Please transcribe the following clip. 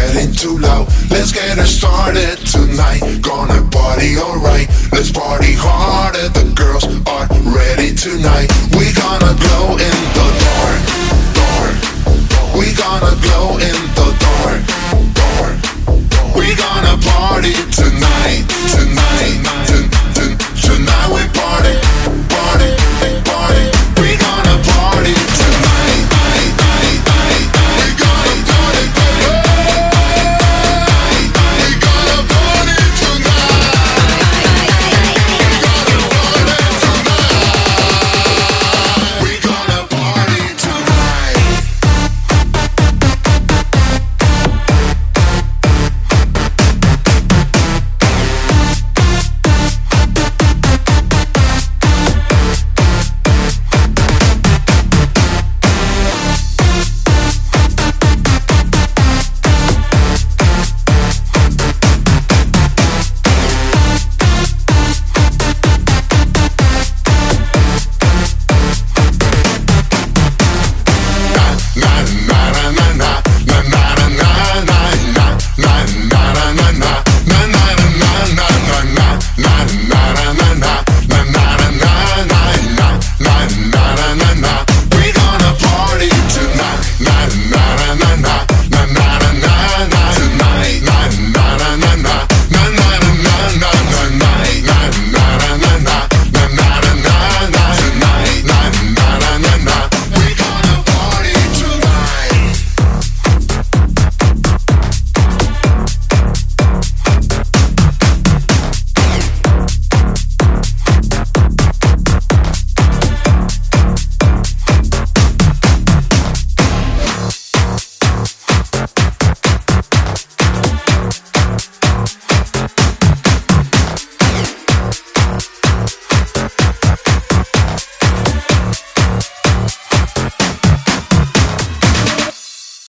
getting too loud. Let's get it started tonight. Gonna party alright. Let's party harder. The girls are ready tonight. We gonna glow in the dark, dark. We gonna glow in the dark, dark. We gonna party tonight.